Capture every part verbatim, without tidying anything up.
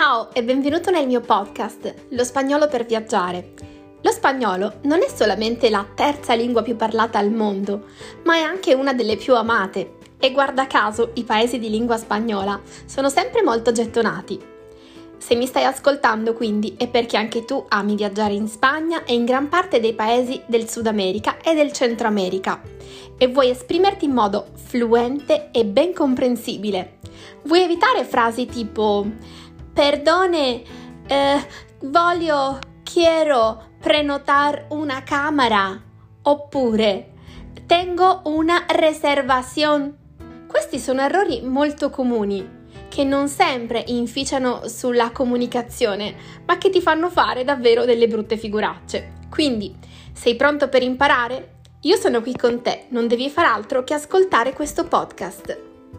Ciao e benvenuto nel mio podcast, Lo spagnolo per viaggiare. Lo spagnolo non è solamente la terza lingua più parlata al mondo, ma è anche una delle più amate. E guarda caso, i paesi di lingua spagnola sono sempre molto gettonati. Se mi stai ascoltando quindi è perché anche tu ami viaggiare in Spagna e in gran parte dei paesi del Sud America e del Centro America e vuoi esprimerti in modo fluente e ben comprensibile. Vuoi evitare frasi tipo perdone, eh, voglio, quiero prenotar una camera oppure tengo una reservación. Questi sono errori molto comuni che non sempre inficiano sulla comunicazione, ma che ti fanno fare davvero delle brutte figuracce. Quindi, sei pronto per imparare? Io sono qui con te, non devi far altro che ascoltare questo podcast.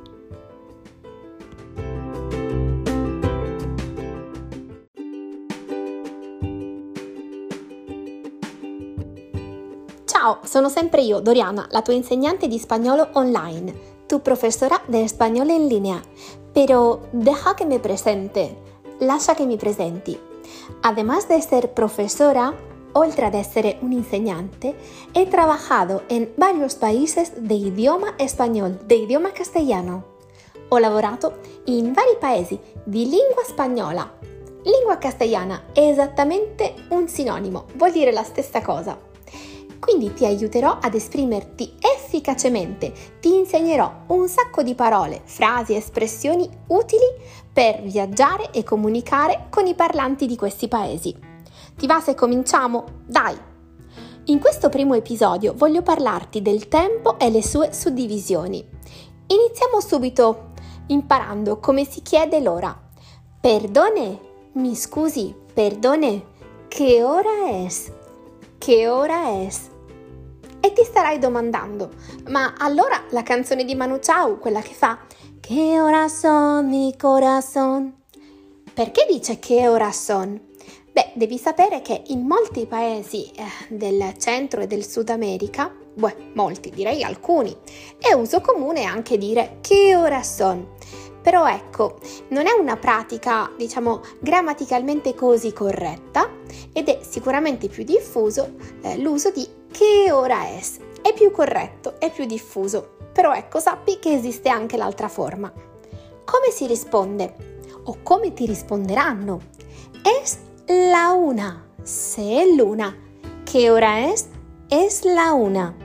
Ciao, sono sempre io, Doriana, la tua insegnante di spagnolo online, tu profesora de español en línea. Pero deja que me presente, lascia che mi presenti. Además de ser profesora, oltre ad essere un insegnante, he trabajado en varios países de idioma español, de idioma castellano. Ho lavorato in vari paesi di lingua spagnola. Lingua castellana è esattamente un sinonimo, vuol dire la stessa cosa. Quindi ti aiuterò ad esprimerti efficacemente, ti insegnerò un sacco di parole, frasi e espressioni utili per viaggiare e comunicare con i parlanti di questi paesi. Ti va se cominciamo? Dai! In questo primo episodio voglio parlarti del tempo e le sue suddivisioni. Iniziamo subito imparando come si chiede l'ora. Perdone, mi scusi, perdone, che ora es? Che ora es? E ti starai domandando, ma allora la canzone di Manu Chao, quella che fa che ora son mi corazón, perché dice che ora son? Beh, devi sapere che in molti paesi eh, del centro e del Sud America, beh, molti, direi alcuni, è uso comune anche dire che ora son. Però ecco, non è una pratica, diciamo, grammaticalmente così corretta ed è sicuramente più diffuso eh, l'uso di che ora es. È più corretto, è più diffuso, però ecco, sappi che esiste anche l'altra forma. Come si risponde? O come ti risponderanno? Es la una, se è l'una. Che ora es? Es la una.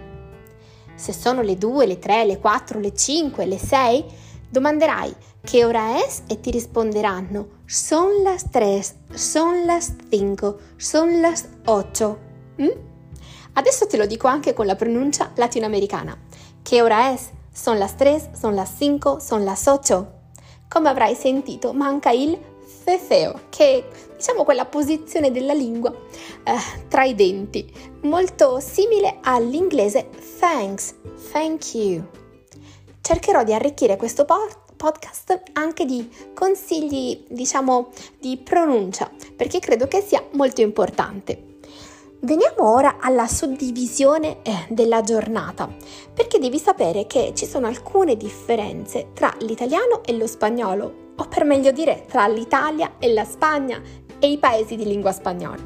Se sono le due, le tre, le quattro, le cinque, le sei, domanderai che ora es e ti risponderanno son las tres, son las cinco, son las ocho. Mm? Adesso te lo dico anche con la pronuncia latinoamericana. Che ora es? Son las tres, son las cinco, son las ocho. Come avrai sentito, manca il ceceo, che è, diciamo, quella posizione della lingua eh, tra i denti, molto simile all'inglese thanks, thank you. Cercherò di arricchire questo podcast anche di consigli, diciamo, di pronuncia, perché credo che sia molto importante. Veniamo ora alla suddivisione eh, della giornata, perché devi sapere che ci sono alcune differenze tra l'italiano e lo spagnolo, o per meglio dire tra l'Italia e la Spagna e i paesi di lingua spagnola.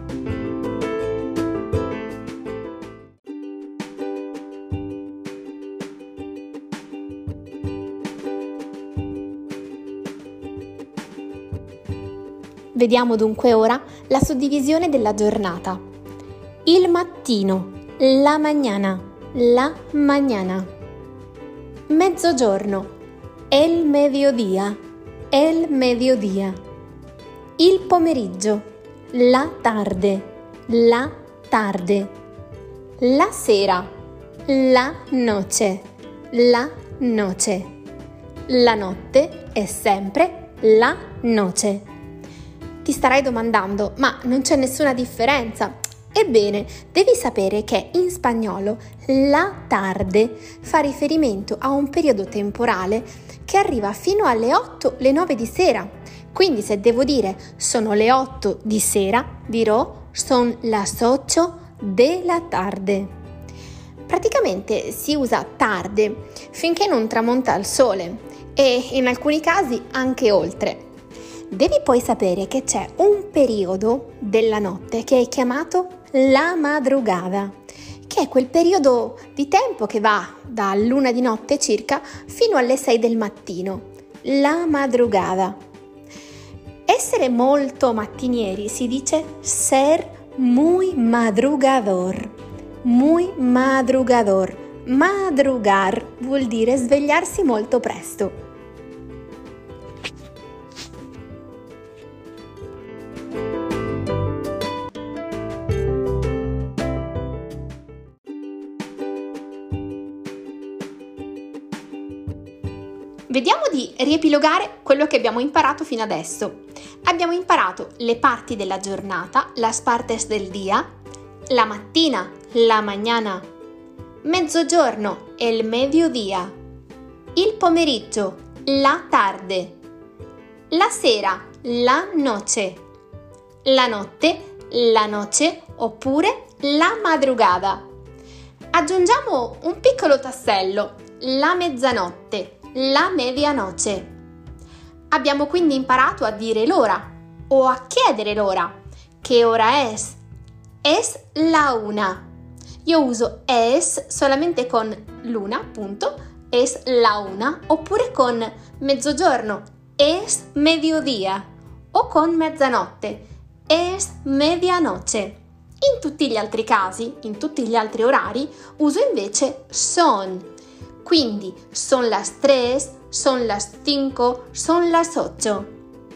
Vediamo dunque ora la suddivisione della giornata. Il mattino, la mañana, la mañana. Mezzogiorno, el mediodía, el mediodía. Il pomeriggio, la tarde, la tarde. La sera, la noche, la noche. La notte è sempre la noche. Ti starai domandando, ma non c'è nessuna differenza? Ebbene, devi sapere che in spagnolo la tarde fa riferimento a un periodo temporale che arriva fino alle otto, le nove di sera. Quindi se devo dire sono le otto di sera, dirò son las ocho de la tarde. Praticamente si usa tarde finché non tramonta il sole e in alcuni casi anche oltre. Devi poi sapere che c'è un periodo della notte che è chiamato la madrugada, che è quel periodo di tempo che va da luna di notte circa fino alle sei del mattino. La madrugada. Essere molto mattinieri si dice ser muy madrugador. Muy madrugador. Madrugar vuol dire svegliarsi molto presto. Vediamo di riepilogare quello che abbiamo imparato fino adesso. Abbiamo imparato le parti della giornata, las partes del día, la mattina, la mañana, mezzogiorno, el mediodía, il pomeriggio, la tarde, la sera, la noche, la notte, la noche oppure la madrugada. Aggiungiamo un piccolo tassello, la mezzanotte, la medianoche. Abbiamo quindi imparato a dire l'ora o a chiedere l'ora. Che ora es? Es la una. Io uso es solamente con l'una, appunto, es la una, oppure con mezzogiorno, es mediodía, o con mezzanotte, es medianoche. In tutti gli altri casi, in tutti gli altri orari, uso invece son. Quindi, son las tres, son las cinco, son las ocho.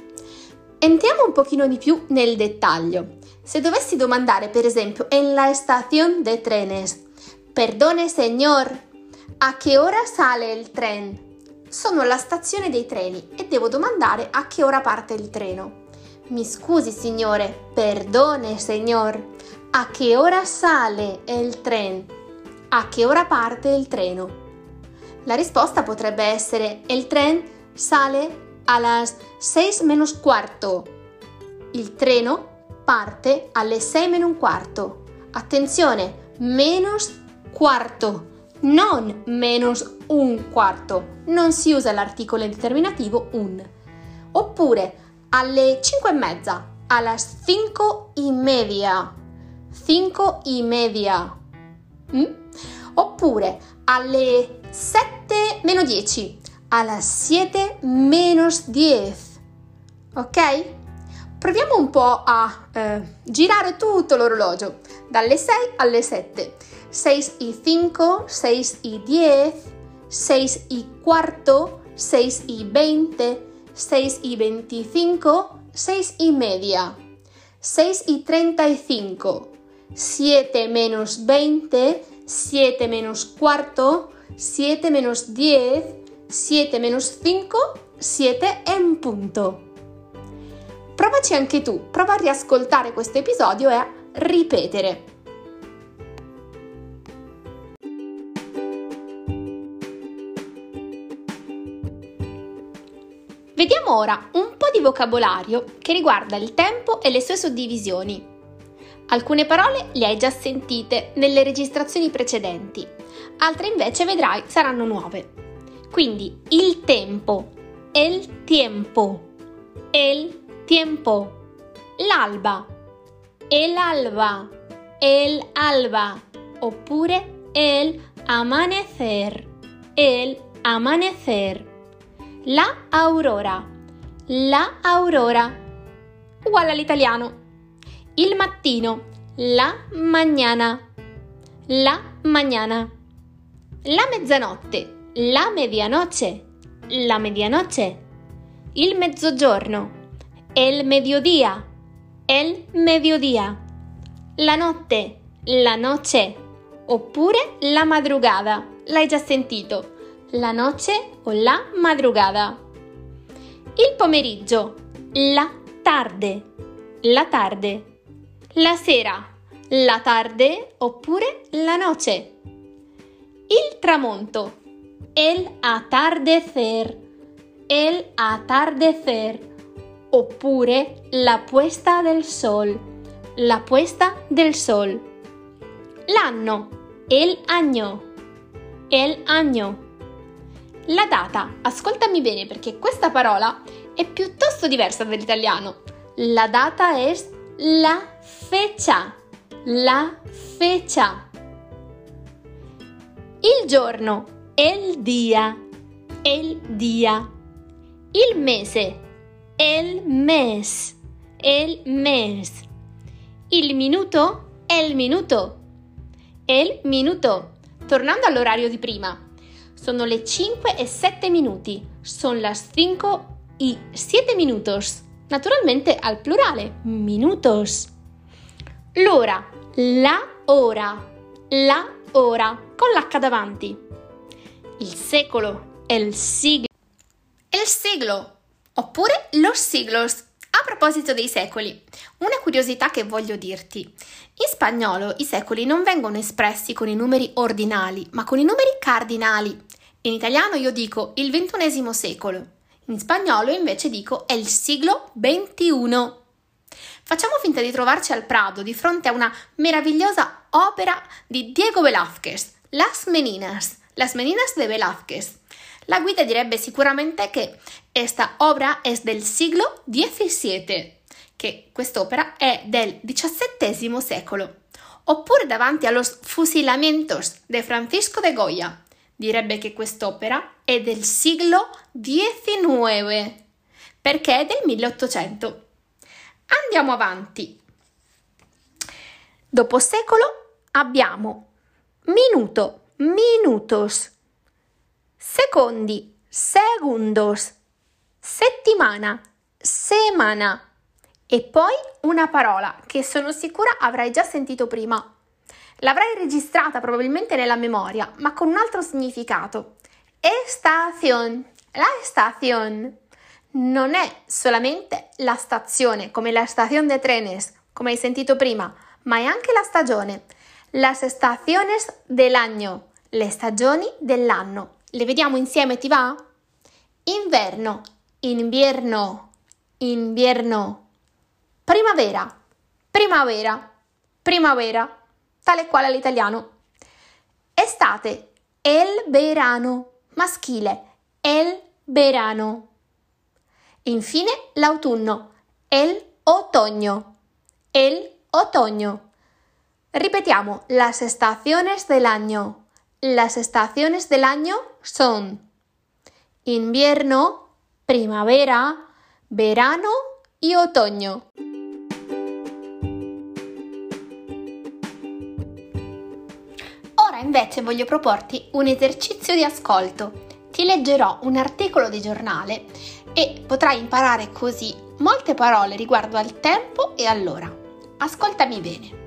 Entriamo un pochino di più nel dettaglio. Se dovessi domandare, per esempio, en la estación de trenes, perdone señor, a che ora sale il tren? Sono alla stazione dei treni e devo domandare a che ora parte il treno. Mi scusi signore, perdone señor, a che ora sale il tren? A che ora parte il treno? La risposta potrebbe essere: el tren sale a las seis menos cuarto. Il treno parte alle sei meno un quarto. Attenzione, menos quarto, non menos un quarto. Non si usa l'articolo indeterminativo un. Oppure alle cinque e mezza, a las cinco y media. Cinco y media. Mm? Oppure alle sette meno dieci, a las siete menos diez. Ok? Proviamo un po' a eh, girare tutto l'orologio, dalle sei alle sette. seis y cinco, seis y diez, seis y cuarto, seis y veinte, seis y veinticinco, seis y media, seis y treinta y cinco, siete menos veinte, siete menos cuarto, siete menos diez, siete menos cinco, siete en punto. Provaci anche tu, prova a riascoltare questo episodio e a ripetere. Vediamo ora un po' di vocabolario che riguarda il tempo e le sue suddivisioni. Alcune parole le hai già sentite nelle registrazioni precedenti, altre invece vedrai saranno nuove. Quindi il tempo, el tiempo, el tiempo, l'alba, el alba, el alba, oppure el amanecer, el amanecer, la aurora, la aurora, uguale all'italiano. Il mattino, la mañana, la mañana. La mezzanotte, la medianoche, la medianoche. Il mezzogiorno, el mediodía, el mediodía. La notte, la noche, oppure la madrugada. L'hai già sentito, la noche o la madrugada. Il pomeriggio, la tarde, la tarde. La sera, la tarde oppure la noche. Il tramonto, el atardecer, el atardecer, oppure la puesta del sol, la puesta del sol. L'anno, el año, el año. La data, ascoltami bene perché questa parola è piuttosto diversa dall'italiano. La data es la fecha. La fecha. Il giorno, el día, el día. Il mese, el mes, el mes. Il minuto, el minuto, el minuto. Tornando all'orario di prima, sono le cinque e sette minuti, son las cinco y siete minutos, naturalmente al plurale, minutos. L'ora, la ora, la ora, con l'H davanti. Il secolo, el siglo, el siglo, oppure los siglos. A proposito dei secoli, una curiosità che voglio dirti. In spagnolo i secoli non vengono espressi con i numeri ordinali, ma con i numeri cardinali. In italiano io dico il ventunesimo secolo, in spagnolo invece dico el siglo veintiuno. Facciamo finta di trovarci al Prado di fronte a una meravigliosa opera di Diego Velázquez, Las Meninas, Las Meninas de Velázquez. La guida direbbe sicuramente che esta obra es del siglo diecisiete, che quest'opera è del diciassettesimo secolo. Oppure davanti a Los Fusilamientos de Francisco de Goya, direbbe che quest'opera è del siglo diciannove, perché è del milleottocento. Andiamo avanti. Dopo secolo abbiamo minuto, minutos, secondi, segundos, settimana, semana e poi una parola che sono sicura avrai già sentito prima. L'avrai registrata probabilmente nella memoria, ma con un altro significato. Estación. La estación non è solamente la stazione, come la estación de trenes, come hai sentito prima, ma è anche la stagione. Las estaciones del año, le stagioni dell'anno. Le vediamo insieme, ti va? Inverno, invierno, invierno. Primavera, primavera, primavera, tale e quale all'italiano. Estate, el verano, maschile, el verano. Infine l'autunno, el otoño, el otoño. Ripetiamo, las estaciones del año. Las estaciones del año son invierno, primavera, verano y otoño. Ora invece voglio proporti un esercizio di ascolto. Ti leggerò un articolo di giornale e potrai imparare così molte parole riguardo al tempo e all'ora. Ascoltami bene.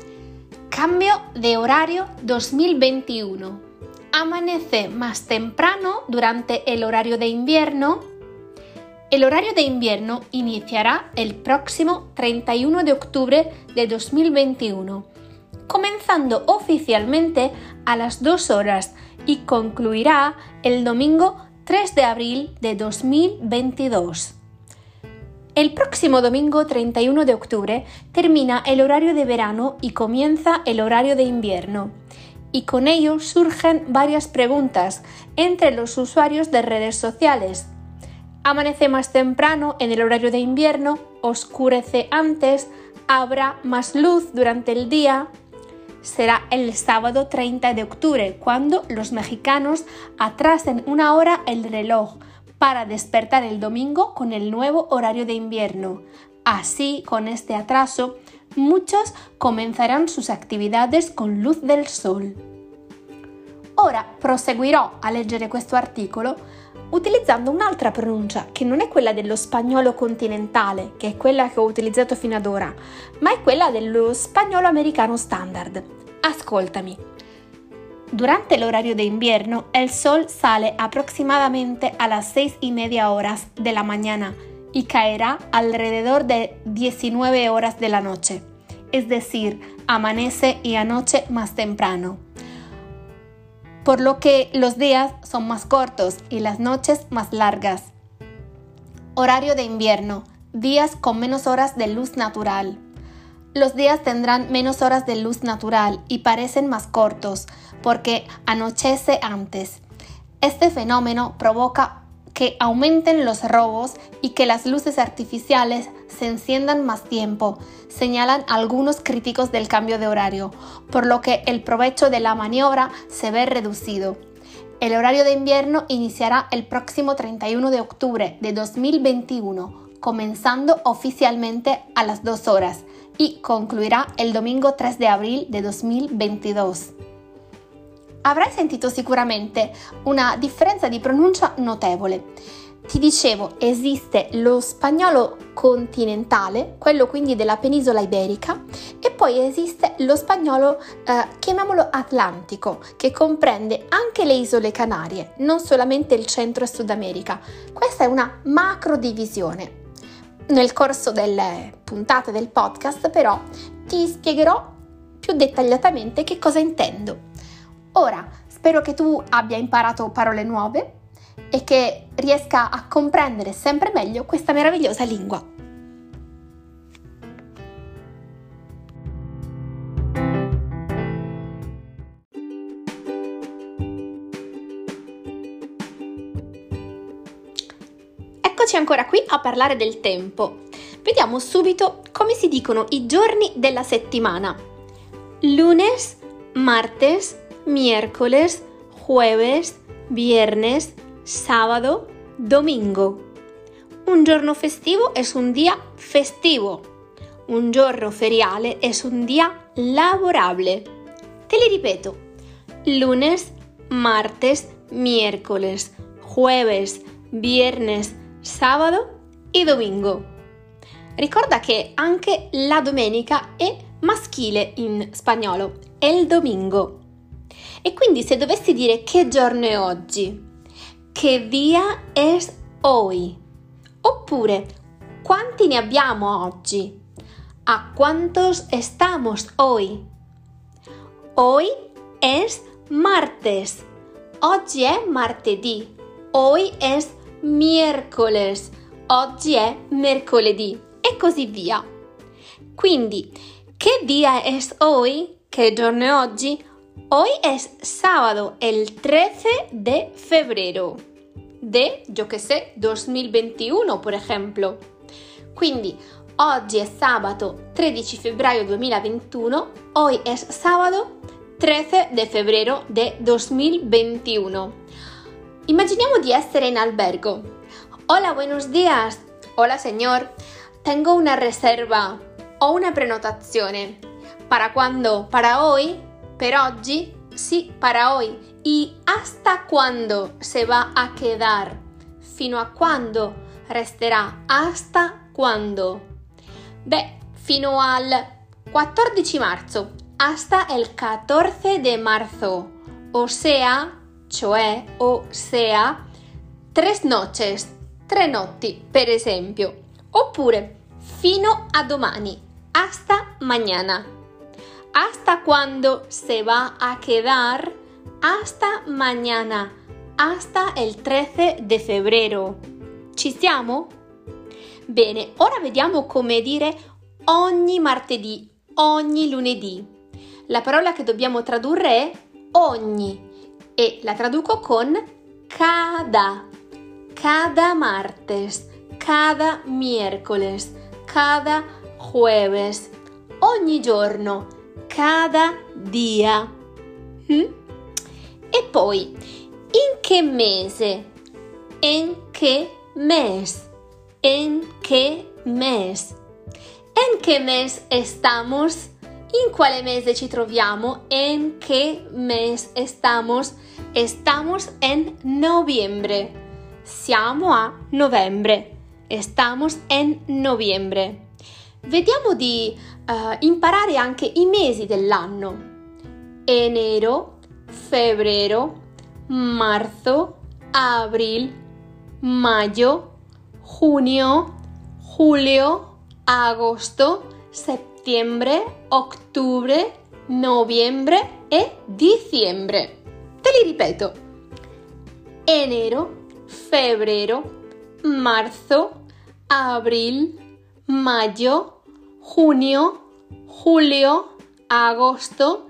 Cambio de horario dos mil veintiuno. Amanece más temprano durante el horario de invierno. El horario de invierno iniciará el próximo treinta y uno de octubre de dos mil veintiuno, comenzando oficialmente a las dos horas y concluirá el domingo tres de abril de dos mil veintidós. El próximo domingo treinta y uno de octubre termina el horario de verano y comienza el horario de invierno. Y con ello surgen varias preguntas entre los usuarios de redes sociales. ¿Amanece más temprano en el horario de invierno? ¿Oscurece antes? ¿Habrá más luz durante el día? Será el sábado treinta de octubre cuando los mexicanos atrasen una hora el reloj para despertar el domingo con el nuevo horario de invierno. Así, con este atraso, muchos comenzarán sus attività con luz del sol. Ora proseguirò a leggere questo articolo utilizzando un'altra pronuncia che non è quella dello spagnolo continentale, che è quella che ho utilizzato fino ad ora, ma è quella dello spagnolo americano standard. Ascoltami. Durante el horario de invierno, el sol sale aproximadamente a las seis y media horas de la mañana y caerá alrededor de diecinueve horas de la noche, es decir, amanece y anoche más temprano, por lo que los días son más cortos y las noches más largas. Horario de invierno, días con menos horas de luz natural. Los días tendrán menos horas de luz natural y parecen más cortos porque anochece antes. Este fenómeno provoca que aumenten los robos y que las luces artificiales se enciendan más tiempo, señalan algunos críticos del cambio de horario, por lo que el provecho de la maniobra se ve reducido. El horario de invierno iniciará el próximo treinta y uno de octubre de dos mil veintiuno, comenzando oficialmente a las dos horas y concluirá el domingo tres de abril de dos mil veintidue. Avrai sentito sicuramente una differenza di pronuncia notevole. Ti dicevo, esiste lo spagnolo continentale, quello quindi della penisola iberica, e poi esiste lo spagnolo, eh, chiamiamolo atlantico, che comprende anche le isole Canarie, non solamente il Centro e Sud America. Questa è una macro divisione. Nel corso delle puntate del podcast, però, ti spiegherò più dettagliatamente che cosa intendo. Ora, spero che tu abbia imparato parole nuove e che riesca a comprendere sempre meglio questa meravigliosa lingua. Eccoci ancora qui a parlare del tempo. Vediamo subito come si dicono i giorni della settimana. Lunes, martes, miércoles, jueves, viernes, sábado, domingo. Un giorno festivo es un día festivo. Un giorno feriale es un día lavorable. Te li ripeto. Lunes, martes, miércoles, jueves, viernes, sabato e domingo. Ricorda che anche la domenica è maschile in spagnolo, el domingo. E quindi se dovessi dire che giorno è oggi, che día es hoy, oppure quanti ne abbiamo oggi, a cuántos estamos hoy. Hoy es martes, oggi è martedì, hoy es miércoles, oggi è mercoledì e così via. Quindi, che día es hoy, che giorno è oggi? Hoy es sábado, el trece de febrero de, yo que sé, dos mil veintiuno, por ejemplo. Quindi, oggi è sabato tredici febbraio duemilaventuno, hoy es sábado trece de febrero de dos mil veintiuno. Immaginiamo di essere in albergo. Hola, buenos días. Hola, señor. Tengo una reserva o una prenotazione. ¿Para cuándo? ¿Para hoy? ¿Per oggi? Sí, para hoy. ¿Y hasta cuándo se va a quedar? ¿Fino a cuándo resterà? ¿Hasta cuándo? Beh, fino al quattordici marzo. Hasta el catorce de marzo. O sea, cioè, o sea, tres noches. Tre notti, per esempio. Oppure, fino a domani. Hasta mañana. ¿Hasta cuándo se va a quedar? Hasta mañana, hasta el trece de febrero. Ci siamo? Bene, ora vediamo come dire ogni martedì, ogni lunedì. La parola che dobbiamo tradurre è ogni e la traduco con cada, cada martes, cada miércoles, cada jueves, ogni giorno. Cada dia. Mm? E poi, in che mese? En che mes? En che mes? En che mes estamos? In quale mese ci troviamo? En che mes estamos? Estamos en noviembre. Siamo a novembre. Estamos en noviembre. Vediamo di uh, imparare anche i mesi dell'anno. Enero, febrero, marzo, abril, mayo, junio, julio, agosto, settembre, ottobre, novembre e dicembre. Te li ripeto. Enero, febrero, marzo, abril, mayo, junio, julio, agosto,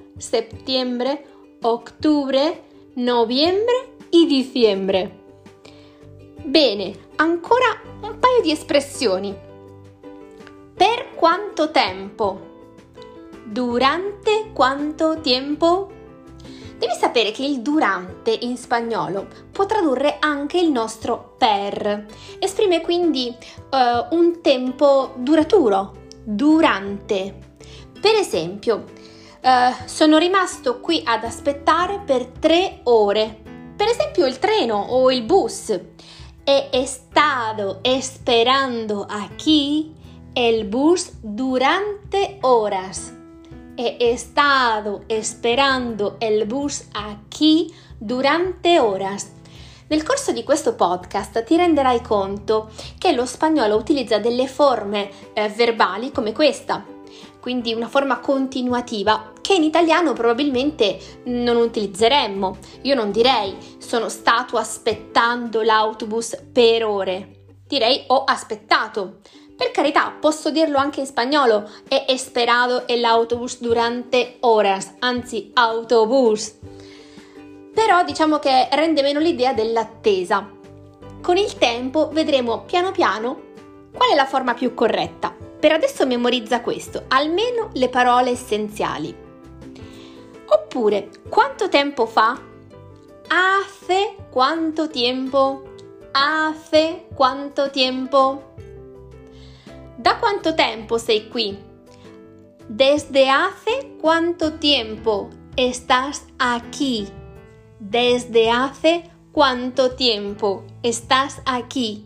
septiembre, octubre, noviembre y diciembre. Bene, ancora un paio di espressioni. Per quanto tempo? Durante quanto tempo? Devi sapere che il durante in spagnolo può tradurre anche il nostro per. Esprime quindi uh, un tempo duraturo, durante. Per esempio, uh, sono rimasto qui ad aspettare per tre ore. Per esempio il treno o il bus. He estado esperando aquí el bus durante horas. He estado esperando el bus aquí durante horas. Nel corso di questo podcast ti renderai conto che lo spagnolo utilizza delle forme eh, verbali come questa, quindi una forma continuativa che in italiano probabilmente non utilizzeremmo. Io non direi sono stato aspettando l'autobus per ore, direi ho aspettato. Per carità, posso dirlo anche in spagnolo, he esperado el autobus durante horas, anzi autobus. Però diciamo che rende meno l'idea dell'attesa. Con il tempo vedremo piano piano qual è la forma più corretta. Per adesso memorizza questo, almeno le parole essenziali. Oppure, quanto tempo fa? Hace quanto tiempo? Hace quanto tempo? ¿Da quanto tempo sei qui? ¿Desde hace cuánto tiempo estás aquí? ¿Desde hace cuánto tiempo estás aquí?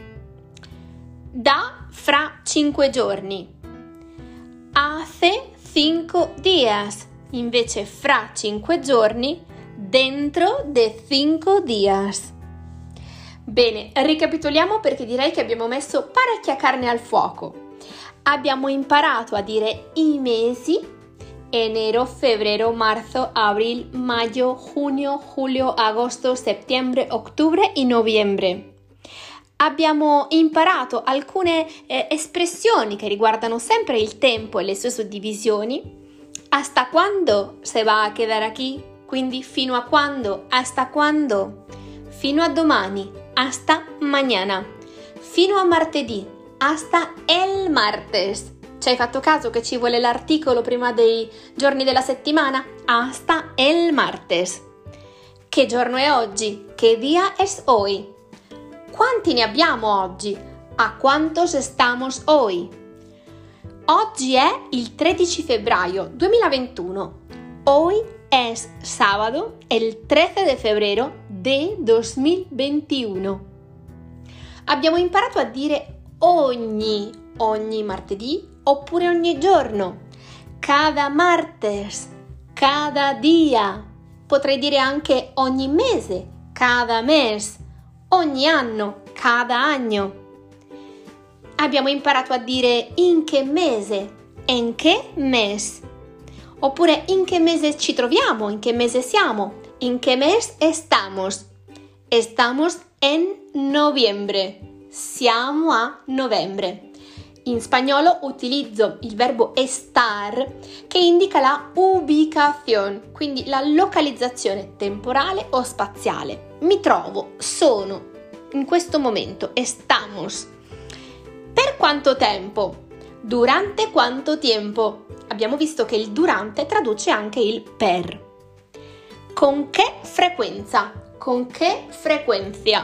Da fra cinque giorni. Hace cinco días. Invece fra cinque giorni, dentro de cinco días. Bene, ricapitoliamo perché direi che abbiamo messo parecchia carne al fuoco. Abbiamo imparato a dire i mesi: enero, febrero, marzo, abril, mayo, junio, julio, agosto, settembre, ottobre e novembre. Abbiamo imparato alcune eh, espressioni che riguardano sempre il tempo e le sue suddivisioni. Hasta quando se va a quedar aquí? Quindi fino a quando? Hasta quando? Fino a domani. Hasta mañana. Fino a martedì. Hasta el martes. Ci hai fatto caso che ci vuole l'articolo prima dei giorni della settimana? Hasta el martes. Che giorno è oggi? Che día es hoy? Quanti ne abbiamo oggi? A quantos estamos hoy? Oggi è il tredici febbraio duemilaventuno. Hoy es sábado, el trece de febrero de dos mil veintiuno. Abbiamo imparato a dire ogni, ogni martedì oppure ogni giorno, cada martes, cada día. Potrei dire anche ogni mese, cada mes, ogni anno, cada año. Abbiamo imparato a dire in che mese, en qué mes. Oppure in che mese ci troviamo, in che mese siamo, in che mes estamos. Estamos en noviembre, siamo a novembre. In spagnolo utilizzo il verbo estar che indica la ubicación, quindi la localizzazione temporale o spaziale. Mi trovo, sono, in questo momento, estamos. Per quanto tempo? Durante quanto tempo? Abbiamo visto che il durante traduce anche il per. Con che frequenza? Con che frequencia?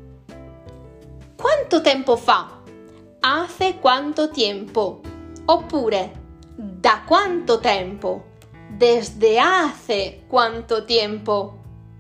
Quanto tempo fa? Hace quanto tiempo? Oppure da quanto tempo? Desde hace quanto tiempo?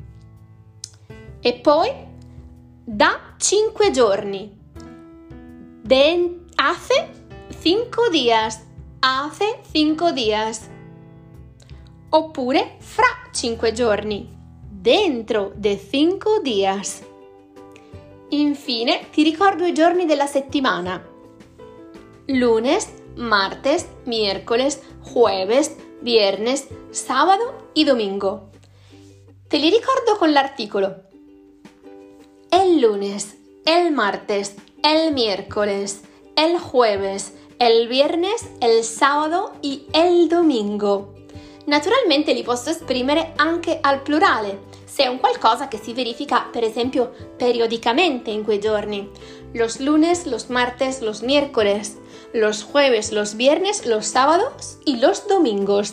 E poi da cinque giorni. De hace cinco días. Hace cinco días. Oppure fra cinque giorni. Dentro de cinco días. Infine ti ricordo i giorni della settimana. Lunes, martes, miércoles, jueves, viernes, sábado y domingo. Te li ricordo con l'articolo. El lunes, el martes, el miércoles, el jueves, el viernes, el sábado y el domingo. Naturalmente li posso esprimere anche al plurale, se è un qualcosa che si verifica, per esempio, periodicamente in quei giorni. Los lunes, los martes, los miércoles, los jueves, los viernes, los sábados y los domingos.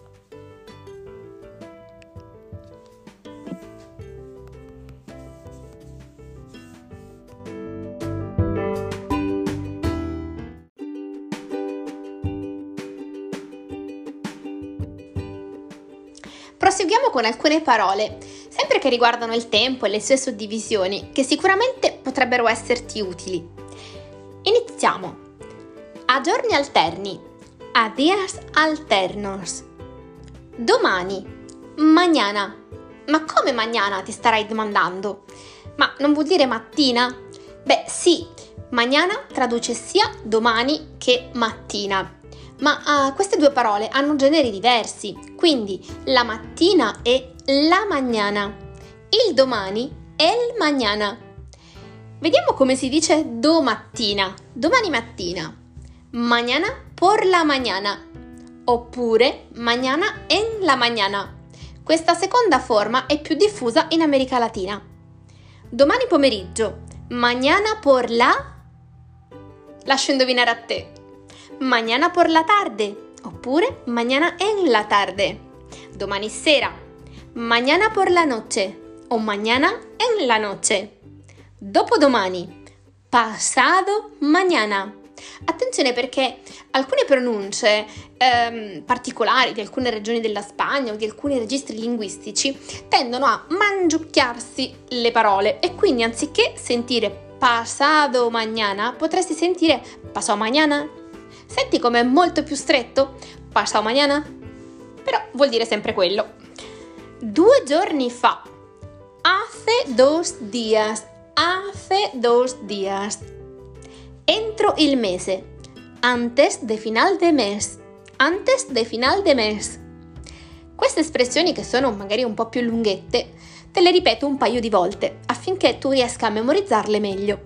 Proseguiamo con alcune parole, sempre che riguardano il tempo e le sue suddivisioni, che sicuramente potrebbero esserti utili. Iniziamo. A giorni alterni, a días alternos. Domani, mañana. Ma come mañana, ti starai domandando? Ma non vuol dire mattina? Beh sì, mañana traduce sia domani che mattina. Ma uh, queste due parole hanno generi diversi, quindi la mattina è la mañana, il domani è il mañana. Vediamo come si dice domattina, domani mattina, mañana por la mañana, oppure mañana en la mañana. Questa seconda forma è più diffusa in America Latina. Domani pomeriggio, mañana por la... Lascio indovinare a te. Mañana por la tarde, oppure mañana en la tarde. Domani sera, mañana por la noche o mañana en la noche. Dopodomani, pasado mañana. Attenzione perché alcune pronunce ehm, particolari di alcune regioni della Spagna o di alcuni registri linguistici tendono a mangiucchiarsi le parole e quindi anziché sentire pasado mañana potresti sentire pasado mañana. Senti com'è molto più stretto? Pasado mañana? Però vuol dire sempre quello. Due giorni fa. Hace dos días. Hace dos días. Entro il mese. Antes de final de mes. Antes de final de mes. Queste espressioni, che sono magari un po' più lunghette, te le ripeto un paio di volte affinché tu riesca a memorizzarle meglio.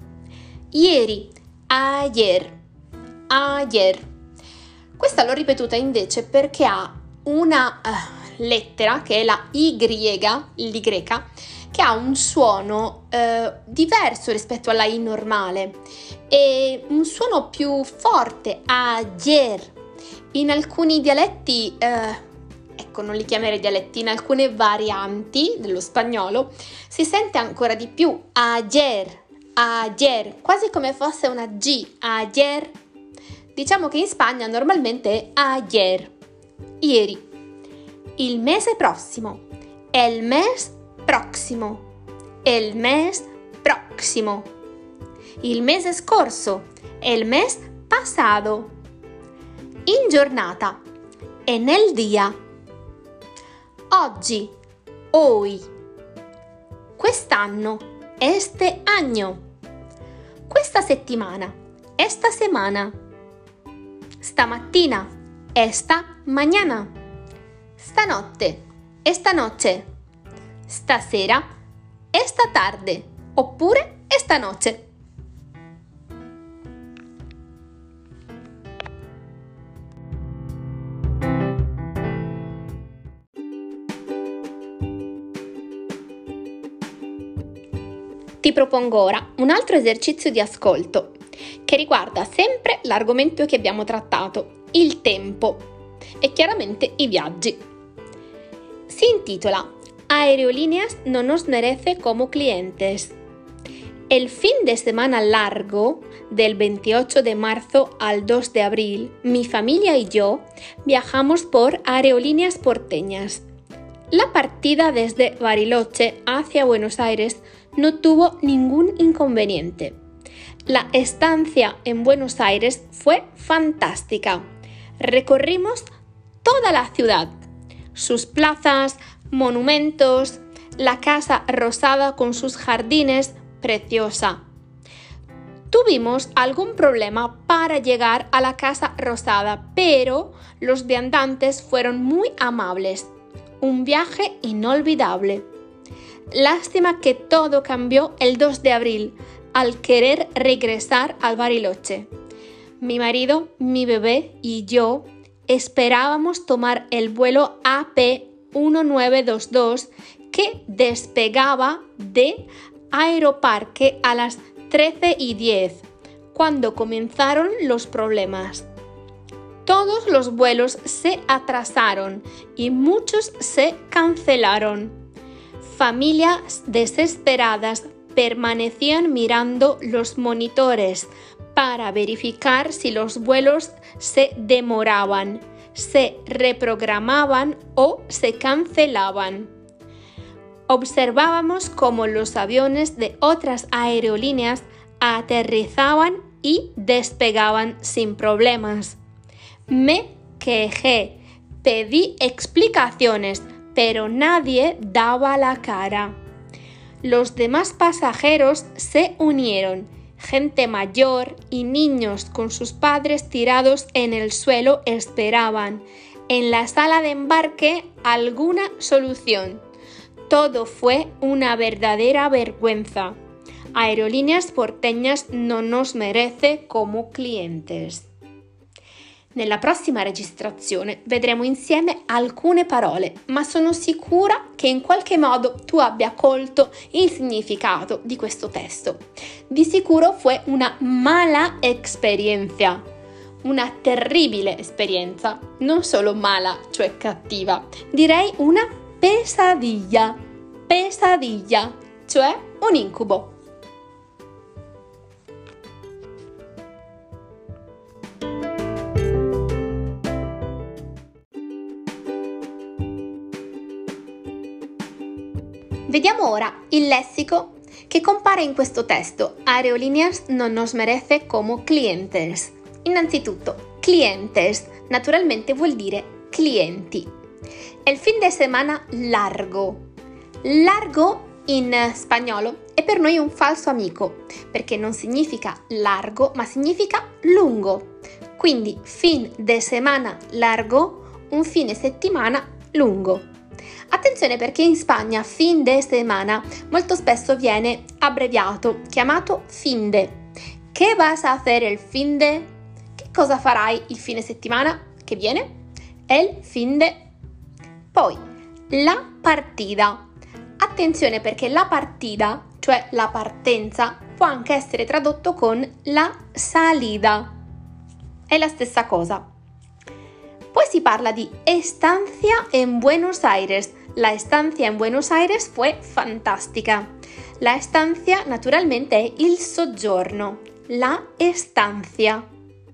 Ieri. Ayer. Ayer. Questa l'ho ripetuta invece perché ha una uh, lettera che è la Y, l'Y, che ha un suono uh, diverso rispetto alla I normale e un suono più forte, ayer. In alcuni dialetti, uh, ecco non li chiamerei dialetti, in alcune varianti dello spagnolo si sente ancora di più ayer, ayer, quasi come fosse una G, ayer. Diciamo che in Spagna normalmente è ayer, ieri. Il mese prossimo, el mes próximo, el mes próximo. Il mese scorso, el mes pasado. In giornata, en el día. Oggi, hoy. Quest'anno, este año. Questa settimana, esta semana. Stamattina, esta mañana. Stanotte, esta noche. Stasera, esta tarde, oppure esta noche. Ti propongo ora un altro esercizio di ascolto che riguarda sempre l'argomento che abbiamo trattato, il tempo e chiaramente i viaggi. Si intitola Aerolíneas no nos merece como clientes. El fin de semana largo, del veintiocho de marzo al dos de abril, mi familia y yo viajamos por Aerolíneas Porteñas. La partida desde Bariloche hacia Buenos Aires no tuvo ningún inconveniente. La estancia en Buenos Aires fue fantástica. Recorrimos toda la ciudad, sus plazas, monumentos, la Casa Rosada con sus jardines, preciosa. Tuvimos algún problema para llegar a la Casa Rosada, pero los viandantes fueron muy amables. Un viaje inolvidable. Lástima que todo cambió el dos de abril, al querer regresar al Bariloche. Mi marido, mi bebé y yo esperábamos tomar el vuelo A P diecinueve veintidós que despegaba de Aeroparque a las trece y diez, cuando comenzaron los problemas. Todos los vuelos se atrasaron y muchos se cancelaron. Familias desesperadas permanecían mirando los monitores para verificar si los vuelos se demoraban, se reprogramaban o se cancelaban. Observábamos cómo los aviones de otras aerolíneas aterrizaban y despegaban sin problemas. Me quejé, pedí explicaciones, pero nadie daba la cara. Los demás pasajeros se unieron, gente mayor y niños con sus padres tirados en el suelo esperaban en la sala de embarque alguna solución. Todo fue una verdadera vergüenza. Aerolíneas porteñas non nos merece come clientes. Nella prossima registrazione vedremo insieme alcune parole, ma sono sicura che in qualche modo tu abbia colto il significato di questo testo. Di sicuro fue una mala experiencia, una terribile esperienza, non solo mala, cioè cattiva, direi una pesadilla, pesadilla, cioè un incubo. Vediamo ora il lessico che compare in questo testo. Aerolíneas non nos merece como clientes. Innanzitutto, clientes naturalmente vuol dire clienti. El fin de semana largo. Largo in spagnolo è per noi un falso amico, perché non significa largo, ma significa lungo. Quindi fin de semana largo, un fine settimana lungo. Attenzione perché in Spagna fin de semana molto spesso viene abbreviato, chiamato fin de. ¿Qué vas a hacer el fin de? Che cosa farai il fine settimana che viene? El fin de. Poi, la partita. Attenzione perché la partita, cioè la partenza, può anche essere tradotto con la salida. È la stessa cosa. Poi si parla di estancia en Buenos Aires. La estancia en Buenos Aires fue fantástica. La estancia naturalmente è il soggiorno, la estancia.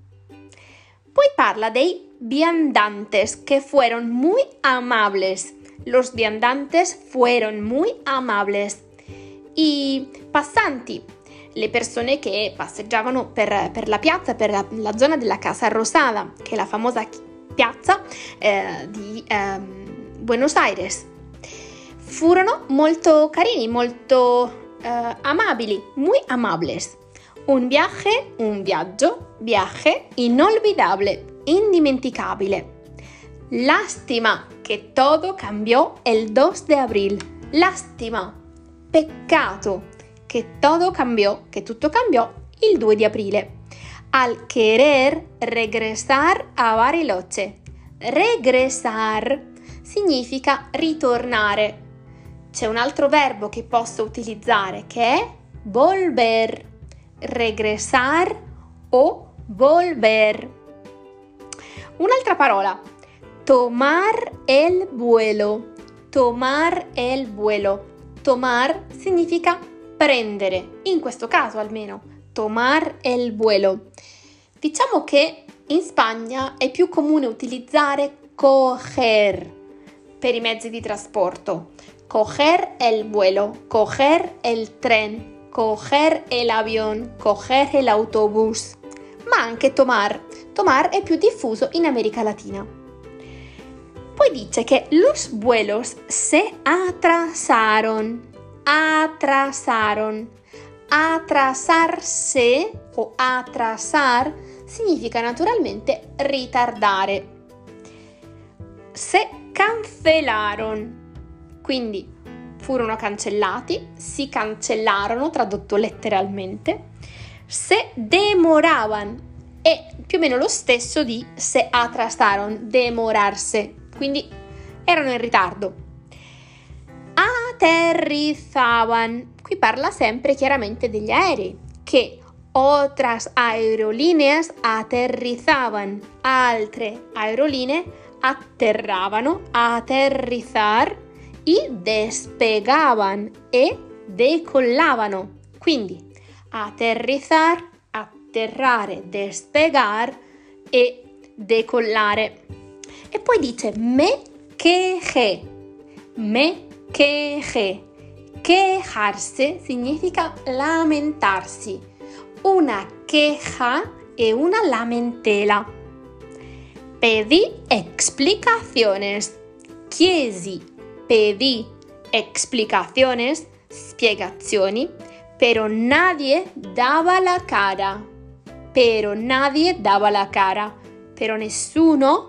Poi parla dei viandantes que fueron muy amables. Los viandantes fueron muy amables. I passanti, le persone che passeggiavano per, per la piazza, per la, la zona della Casa Rosada, che è la famosa piazza eh, di eh, Buenos Aires. Furono molto carini, molto eh, amabili, muy amables. Un viaje, un viaggio, viaje inolvidable, indimenticabile. Lástima que todo cambió el dos de abril. Lástima, peccato che todo cambiò, che tutto cambiò il due di aprile. Al querer regresar a Bariloche. Regresar significa ritornare. C'è un altro verbo che posso utilizzare che è volver. Regresar o volver. Un'altra parola. Tomar el vuelo. Tomar el vuelo. Tomar significa prendere, in questo caso almeno. Tomar el vuelo. Diciamo che in Spagna è più comune utilizzare coger per i mezzi di trasporto. Coger el vuelo, coger el tren, coger el avión, coger el autobús. Ma anche tomar. Tomar è più diffuso in America Latina. Poi dice che los vuelos se atrasaron. Atrasaron. Atrasarse o atrasar significa naturalmente ritardare. Se cancelaron. Quindi furono cancellati, si cancellarono, tradotto letteralmente. Se demoraban è più o meno lo stesso di se atrasaron, demorarse, quindi erano in ritardo. aterrizzaban. Qui parla sempre chiaramente degli aerei, che otras aerolíneas aterrizzaban, altre aerolinee atterravano, aterrizzar, y despegaban e decollavano. Quindi aterrizzar, atterrare, despegar e decollare. E poi dice me quejé, me quejé. Quejarse significa lamentarsi. Una queja è una lamentela. Pedí explicaciones. Chiesi, pedí explicaciones, spiegazioni, pero nadie dava la cara. Pero nadie dava la cara. Però nessuno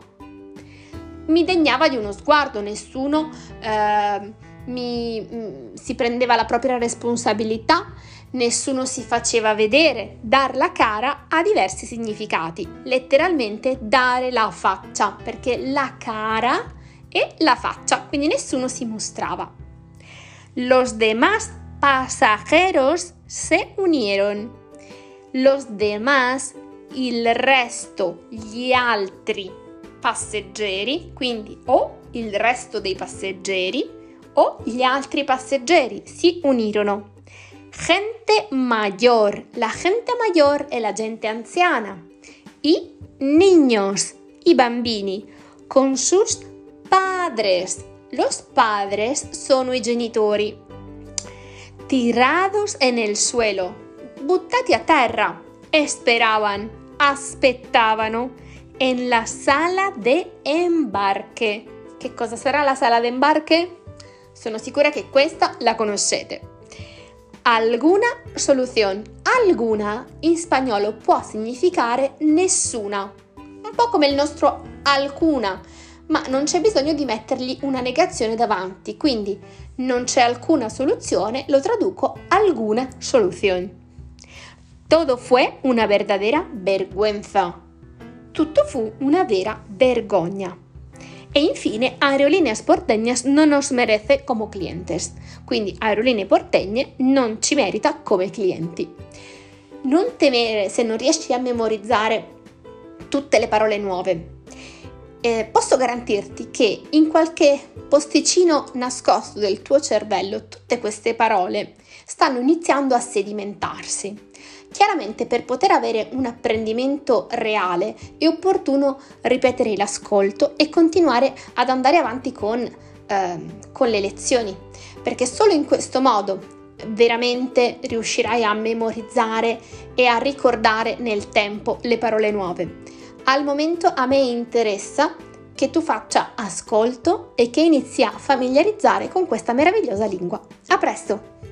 mi degnava di uno sguardo, nessuno eh, mi, mh, si prendeva la propria responsabilità, nessuno si faceva vedere. Dar la cara ha diversi significati, letteralmente dare la faccia, perché la cara è la faccia, quindi nessuno si mostrava. Los demás pasajeros se unieron. Los demás, il resto, gli altri passeggeri, quindi o il resto dei passeggeri o gli altri passeggeri si unirono. Gente mayor, la gente mayor è la gente anziana. Y niños, i bambini, con sus padres. Los padres sono i genitori. Tirados en el suelo, buttati a terra. Esperaban, aspettavano, en la sala de embarque. Che cosa sarà la sala de embarque? Sono sicura che questa la conoscete. Alguna solución. Alguna in spagnolo può significare nessuna, un po' come il nostro alcuna, ma non c'è bisogno di mettergli una negazione davanti, quindi non c'è alcuna soluzione, lo traduco alguna solución. Todo fue una verdadera vergüenza. Tutto fu una vera vergogna. E infine, Aerolíneas Porteñas no nos merece como clientes. Quindi Aerolinee Porteñe non ci merita come clienti. Non temere se non riesci a memorizzare tutte le parole nuove. Eh, posso garantirti che in qualche posticino nascosto del tuo cervello tutte queste parole stanno iniziando a sedimentarsi. Chiaramente per poter avere un apprendimento reale è opportuno ripetere l'ascolto e continuare ad andare avanti con, eh, con le lezioni, perché solo in questo modo veramente riuscirai a memorizzare e a ricordare nel tempo le parole nuove. Al momento a me interessa che tu faccia ascolto e che inizi a familiarizzare con questa meravigliosa lingua. A presto!